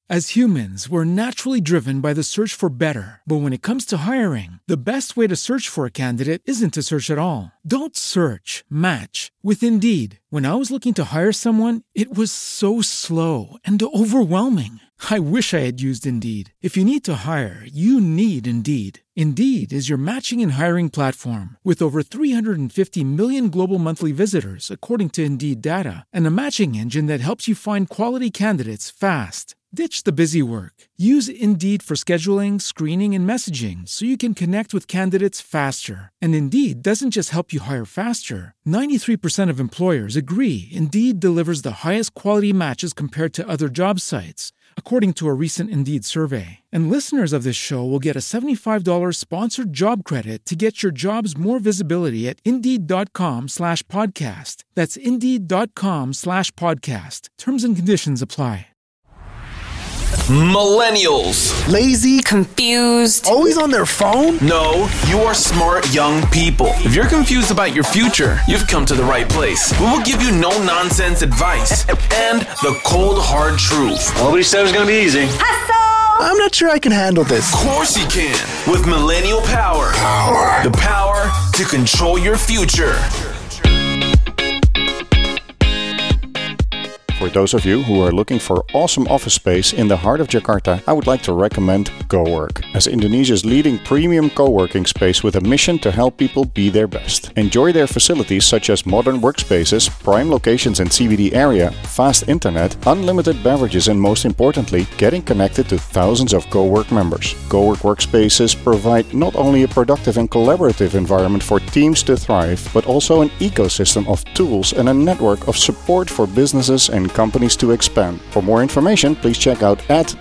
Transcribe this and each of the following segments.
As humans, we're naturally driven by the search for better. But when it comes to hiring, the best way to search for a candidate isn't to search at all. Don't search, match with Indeed. When I was looking to hire someone, it was so slow and overwhelming. I wish I had used Indeed. If you need to hire, you need Indeed. Indeed is your matching and hiring platform with over 350 million global monthly visitors, according to Indeed data, and a matching engine that helps you find quality candidates fast. Ditch the busy work. Use Indeed for scheduling, screening, and messaging so you can connect with candidates faster. And Indeed doesn't just help you hire faster. 93% of employers agree Indeed delivers the highest quality matches compared to other job sites, according to a recent Indeed survey. And listeners of this show will get a $75 sponsored job credit to get your jobs more visibility at Indeed.com/podcast. That's Indeed.com/podcast. Terms and conditions apply. Millennials. Lazy. Confused. Always on their phone? No, you are smart young people. If you're confused about your future, you've come to the right place. We will give you no-nonsense advice and the cold, hard truth. Nobody said it was going to be easy. I'm not sure I can handle this. Of course you can. With Millennial Power. The power to control your future. For those of you who are looking for awesome office space in the heart of Jakarta, I would like to recommend GoWork, as Indonesia's leading premium co-working space with a mission to help people be their best. Enjoy their facilities such as modern workspaces, prime locations in CBD area, fast internet, unlimited beverages, and most importantly, getting connected to thousands of GoWork members. GoWork workspaces provide not only a productive and collaborative environment for teams to thrive, but also an ecosystem of tools and a network of support for businesses and companies to expand. For more information, please check out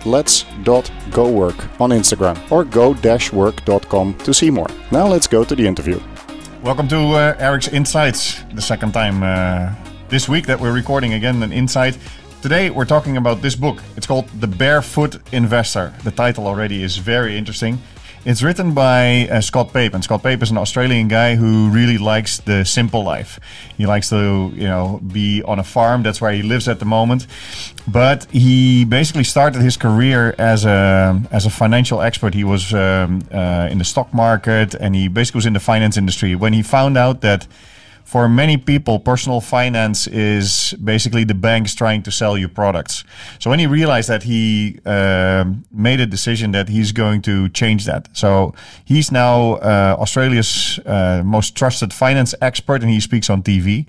@lets.gowork on Instagram or go-work.com to see more. Now let's go to the interview. Welcome to Eric's Insights, the second time this week that we're recording again an insight. Today we're talking about this book. It's called The Barefoot Investor. The title already is very interesting. It's written by Scott Pape, and Scott Pape is an Australian guy who really likes the simple life. He likes to, be on a farm. That's where he lives at the moment. But he basically started his career as a financial expert. He was in the stock market, and he basically was in the finance industry. When he found out that for many people, personal finance is basically the banks trying to sell you products. So when he realized that, he made a decision that he's going to change that. So he's now Australia's most trusted finance expert, and he speaks on TV.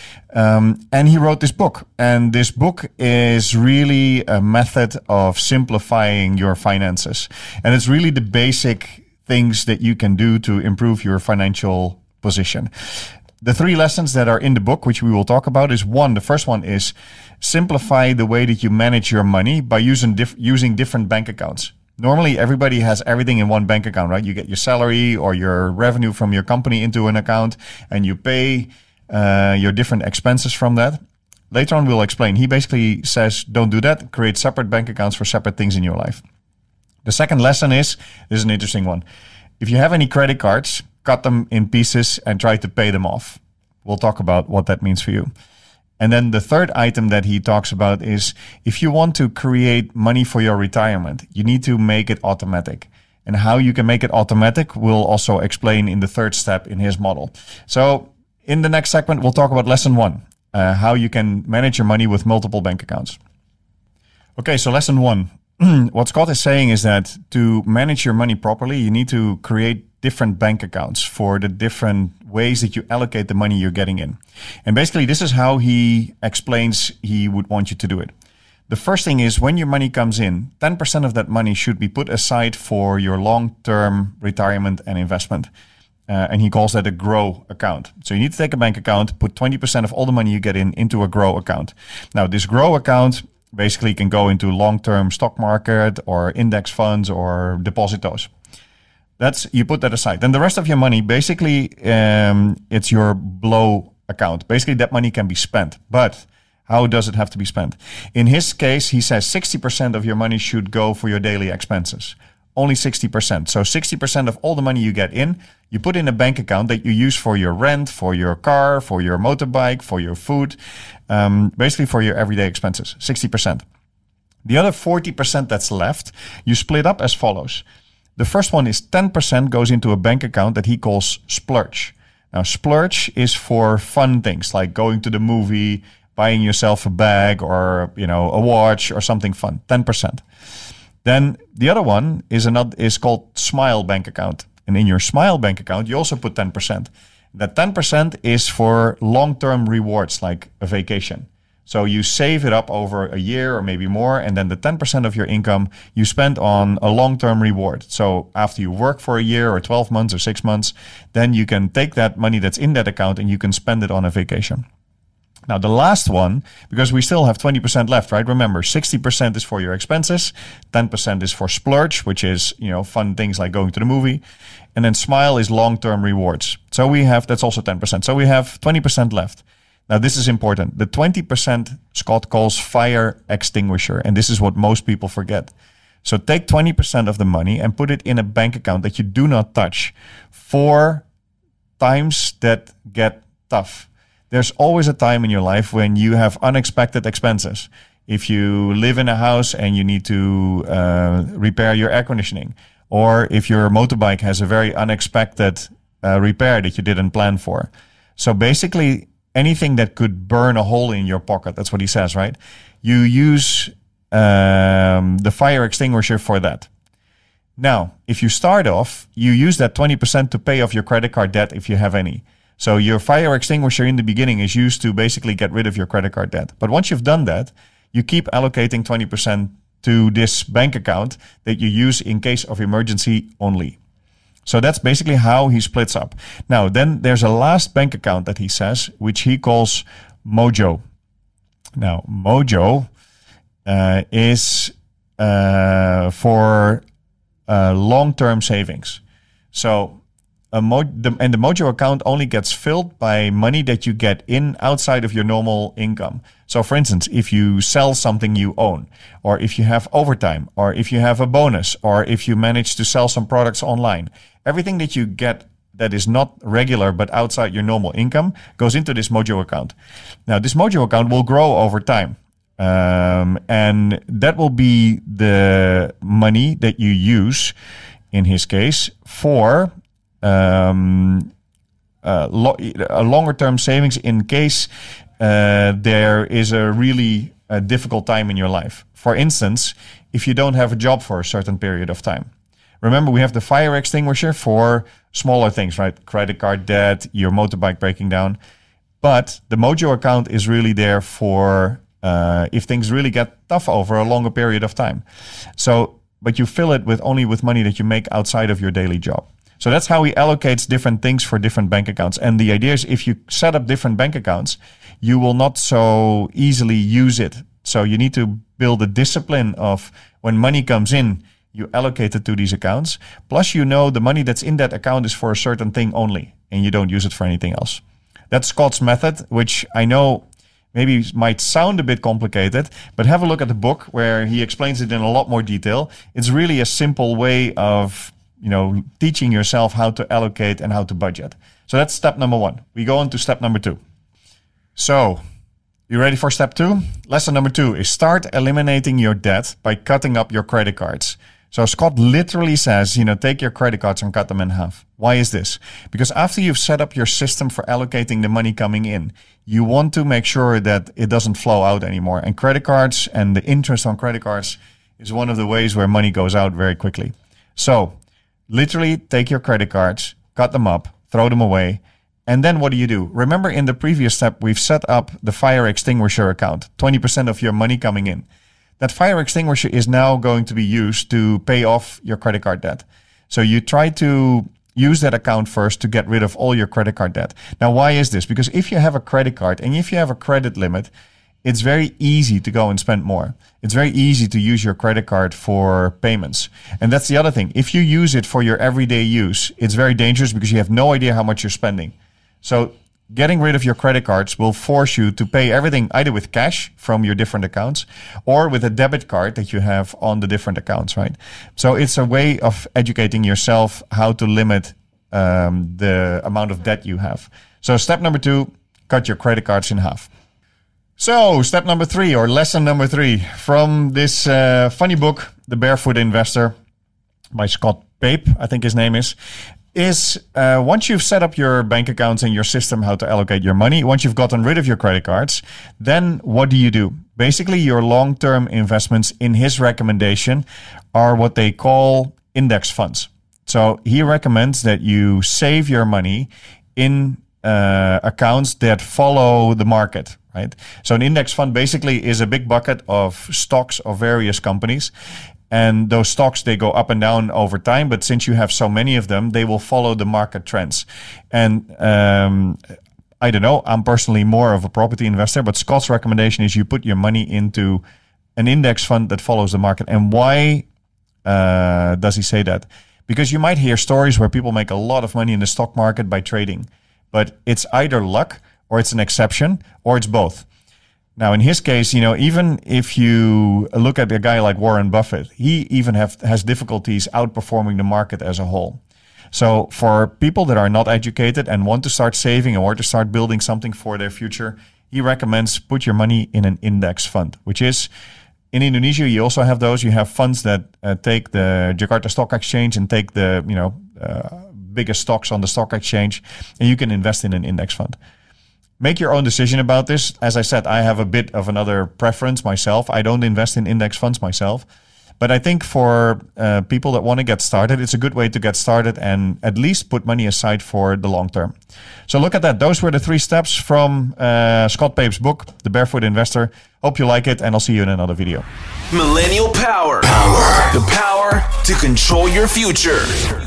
And he wrote this book. And this book is really a method of simplifying your finances. And it's really the basic things that you can do to improve your financial position. The three lessons that are in the book, which we will talk about, is the first one is simplify the way that you manage your money by using different bank accounts. Normally, everybody has everything in one bank account, right? You get your salary or your revenue from your company into an account, and you pay your different expenses from that. Later on, we'll explain. He basically says, don't do that. Create separate bank accounts for separate things in your life. The second lesson is, this is an interesting one. If you have any credit cards, cut them in pieces and try to pay them off. We'll talk about what that means for you. And then the third item that he talks about is, if you want to create money for your retirement, you need to make it automatic. And how you can make it automatic, we'll also explain in the third step in his model. So in the next segment, we'll talk about lesson 1, how you can manage your money with multiple bank accounts. Okay, so lesson 1. What Scott is saying is that to manage your money properly, you need to create different bank accounts for the different ways that you allocate the money you're getting in. And basically, this is how he explains he would want you to do it. The first thing is, when your money comes in, 10% of that money should be put aside for your long-term retirement and investment. And he calls that a GROW account. So you need to take a bank account, put 20% of all the money you get in into a GROW account. Now, this GROW account basically can go into long-term stock market or index funds or depositos. You put that aside. Then the rest of your money, basically, it's your BLOW account. Basically, that money can be spent. But how does it have to be spent? In his case, he says 60% of your money should go for your daily expenses. Only 60%. So 60% of all the money you get in, you put in a bank account that you use for your rent, for your car, for your motorbike, for your food, basically for your everyday expenses, 60%. The other 40% that's left, you split up as follows. The first one is 10% goes into a bank account that he calls splurge. Now, splurge is for fun things like going to the movie, buying yourself a bag or, a watch or something fun, 10%. Then the other one is called Smile bank account. And in your Smile bank account, you also put 10%. That 10% is for long-term rewards like a vacation. So you save it up over a year or maybe more, and then the 10% of your income you spend on a long-term reward. So after you work for a year or 12 months or 6 months, then you can take that money that's in that account and you can spend it on a vacation. Now, the last one, because we still have 20% left, right? Remember, 60% is for your expenses, 10% is for splurge, which is, fun things like going to the movie. And then Smile is long-term rewards. So that's also 10%. So we have 20% left. Now, this is important. The 20% Scott calls fire extinguisher, and this is what most people forget. So take 20% of the money and put it in a bank account that you do not touch for times that get tough. There's always a time in your life when you have unexpected expenses. If you live in a house and you need to repair your air conditioning, or if your motorbike has a very unexpected repair that you didn't plan for. So basically, anything that could burn a hole in your pocket, that's what he says, right? You use the fire extinguisher for that. Now, if you start off, you use that 20% to pay off your credit card debt if you have any. So your fire extinguisher in the beginning is used to basically get rid of your credit card debt. But once you've done that, you keep allocating 20% to this bank account that you use in case of emergency only. So that's basically how he splits up. Now, then there's a last bank account that he says, which he calls Mojo. Now, Mojo is for long-term savings. So the Mojo account only gets filled by money that you get in outside of your normal income. So for instance, if you sell something you own, or if you have overtime, or if you have a bonus, or if you manage to sell some products online, everything that you get that is not regular but outside your normal income goes into this Mojo account. Now, this Mojo account will grow over time. And that will be the money that you use, in his case, for a longer-term savings in case there is a really difficult time in your life. For instance, if you don't have a job for a certain period of time. Remember, we have the fire extinguisher for smaller things, right? Credit card debt, your motorbike breaking down. But the Mojo account is really there for if things really get tough over a longer period of time. So, but you fill it only with money that you make outside of your daily job. So that's how he allocates different things for different bank accounts. And the idea is if you set up different bank accounts, you will not so easily use it. So you need to build a discipline of when money comes in, you allocate it to these accounts. Plus, the money that's in that account is for a certain thing only, and you don't use it for anything else. That's Scott's method, which I know maybe might sound a bit complicated, but have a look at the book where he explains it in a lot more detail. It's really a simple way of teaching yourself how to allocate and how to budget. So that's step number 1. We go on to step number 2. So, you ready for step 2? Lesson number 2 is start eliminating your debt by cutting up your credit cards. So Scott literally says, take your credit cards and cut them in half. Why is this? Because after you've set up your system for allocating the money coming in, you want to make sure that it doesn't flow out anymore. And credit cards and the interest on credit cards is one of the ways where money goes out very quickly. So, literally take your credit cards, cut them up, throw them away, and then what do? Remember in the previous step, we've set up the fire extinguisher account, 20% of your money coming in. That fire extinguisher is now going to be used to pay off your credit card debt. So you try to use that account first to get rid of all your credit card debt. Now, why is this? Because if you have a credit card and if you have a credit limit, it's very easy to go and spend more. It's very easy to use your credit card for payments. And that's the other thing. If you use it for your everyday use, it's very dangerous because you have no idea how much you're spending. So getting rid of your credit cards will force you to pay everything either with cash from your different accounts or with a debit card that you have on the different accounts, right? So it's a way of educating yourself how to limit the amount of debt you have. So step number 2, cut your credit cards in half. So, step number 3, or lesson number 3, from this funny book, The Barefoot Investor, by Scott Pape, I think his name is once you've set up your bank accounts and your system, how to allocate your money, once you've gotten rid of your credit cards, then what do? Basically, your long-term investments, in his recommendation, are what they call index funds. So he recommends that you save your money in accounts that follow the market, right? So an index fund basically is a big bucket of stocks of various companies. And those stocks, they go up and down over time. But since you have so many of them, they will follow the market trends. And I don't know, I'm personally more of a property investor. But Scott's recommendation is you put your money into an index fund that follows the market. And why does he say that? Because you might hear stories where people make a lot of money in the stock market by trading. But it's either luck, or it's an exception, or it's both. Now, in his case, even if you look at a guy like Warren Buffett, he even has difficulties outperforming the market as a whole. So for people that are not educated and want to start saving or to start building something for their future, he recommends put your money in an index fund, which is, in Indonesia, you also have those. You have funds that take the Jakarta Stock Exchange and take the biggest stocks on the stock exchange, and you can invest in an index fund. Make your own decision about this. As I said, I have a bit of another preference myself. I don't invest in index funds myself. But I think for people that want to get started, it's a good way to get started and at least put money aside for the long term. So look at that. Those were the 3 steps from Scott Pape's book, The Barefoot Investor. Hope you like it, and I'll see you in another video. Millennial Power. The power to control your future.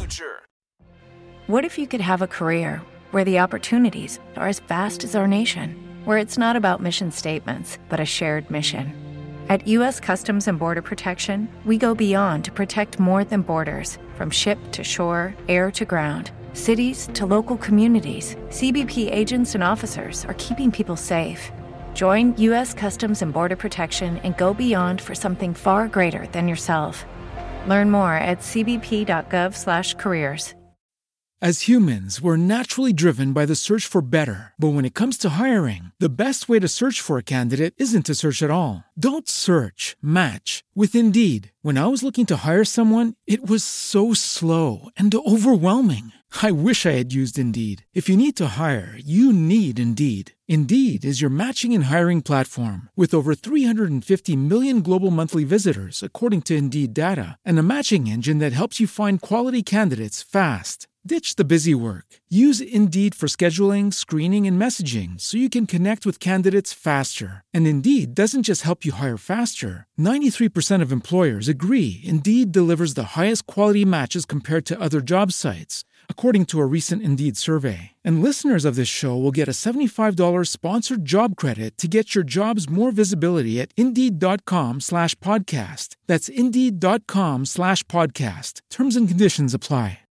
What if you could have a career where the opportunities are as vast as our nation, where it's not about mission statements, but a shared mission? At U.S. Customs and Border Protection, we go beyond to protect more than borders. From ship to shore, air to ground, cities to local communities, CBP agents and officers are keeping people safe. Join U.S. Customs and Border Protection and go beyond for something far greater than yourself. Learn more at cbp.gov/careers. As humans, we're naturally driven by the search for better. But when it comes to hiring, the best way to search for a candidate isn't to search at all. Don't search, match with Indeed. When I was looking to hire someone, it was so slow and overwhelming. I wish I had used Indeed. If you need to hire, you need Indeed. Indeed is your matching and hiring platform with over 350 million global monthly visitors, according to Indeed data, and a matching engine that helps you find quality candidates fast. Ditch the busy work. Use Indeed for scheduling, screening, and messaging so you can connect with candidates faster. And Indeed doesn't just help you hire faster. 93% of employers agree Indeed delivers the highest quality matches compared to other job sites, according to a recent Indeed survey. And listeners of this show will get a $75 sponsored job credit to get your jobs more visibility at Indeed.com/podcast. That's Indeed.com/podcast. Terms and conditions apply.